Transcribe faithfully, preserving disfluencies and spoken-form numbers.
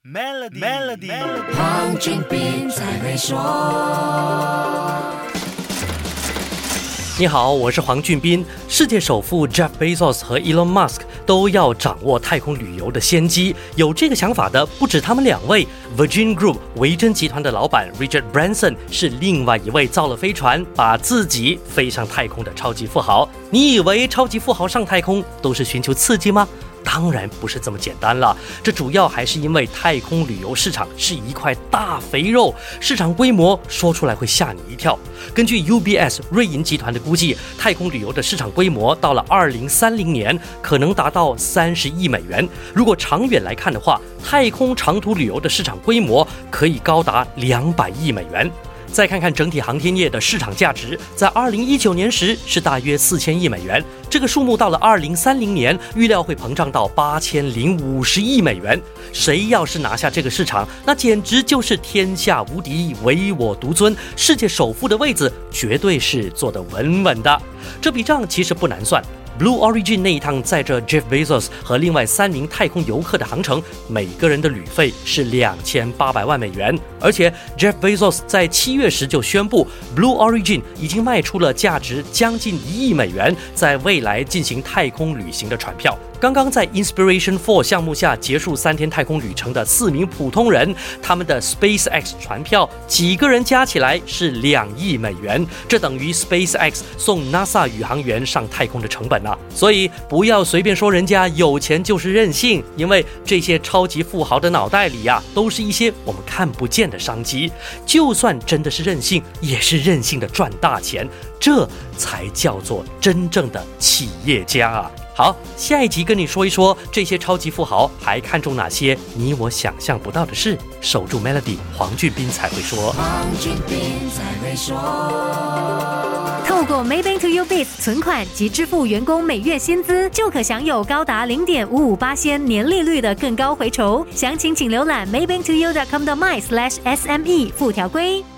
Melody, Melody, Melody. 黄俊斌才会说。 你好，我是黄俊斌。世界首富 Jeff Bezos 和 Elon Musk 都要掌握太空旅游的先机，有这个想法的不止他们两位。Virgin Group 维珍集团的老板 Richard Branson 是另外一位造了飞船，把自己飞上太空的超级富豪。你以为超级富豪上太空都是寻求刺激吗？当然不是这么简单了，这主要还是因为太空旅游市场是一块大肥肉，市场规模说出来会吓你一跳。根据 U B S 瑞银集团的估计，太空旅游的市场规模到了二零三零年可能达到三十亿美元。如果长远来看的话，太空长途旅游的市场规模可以高达两百亿美元。再看看整体航天业的市场价值，在二零一九年时是大约四千亿美元，这个数目到了二零三零年预料会膨胀到八千零五十亿美元。谁要是拿下这个市场，那简直就是天下无敌，唯我独尊，世界首富的位子绝对是坐得稳稳的。这笔账其实不难算。Blue Origin 那一趟载着 Jeff Bezos 和另外三名太空游客的航程，每个人的旅费是两千八百万美元。而且 Jeff Bezos 在七月时就宣布 Blue Origin 已经卖出了价值将近一亿美元在未来进行太空旅行的船票。刚刚在 Inspiration 四 项目下结束三天太空旅程的四名普通人，他们的 SpaceX 船票几个人加起来是两亿美元，这等于 SpaceX 送 NASA 宇航员上太空的成本啊。所以不要随便说人家有钱就是任性，因为这些超级富豪的脑袋里啊，都是一些我们看不见的商机。就算真的是任性，也是任性的赚大钱，这才叫做真正的企业家啊。好，下一集跟你说一说这些超级富豪还看重哪些你我想象不到的事。守住 Melody， 黄俊斌才会说。 黄俊斌才会说。 透过 Maybank to U Biz 存款及支付员工每月薪资，就可享有高达 零点五五%年利率的更高回酬。详情请浏览 maybank to u dot com dot my slash S M E 附条规。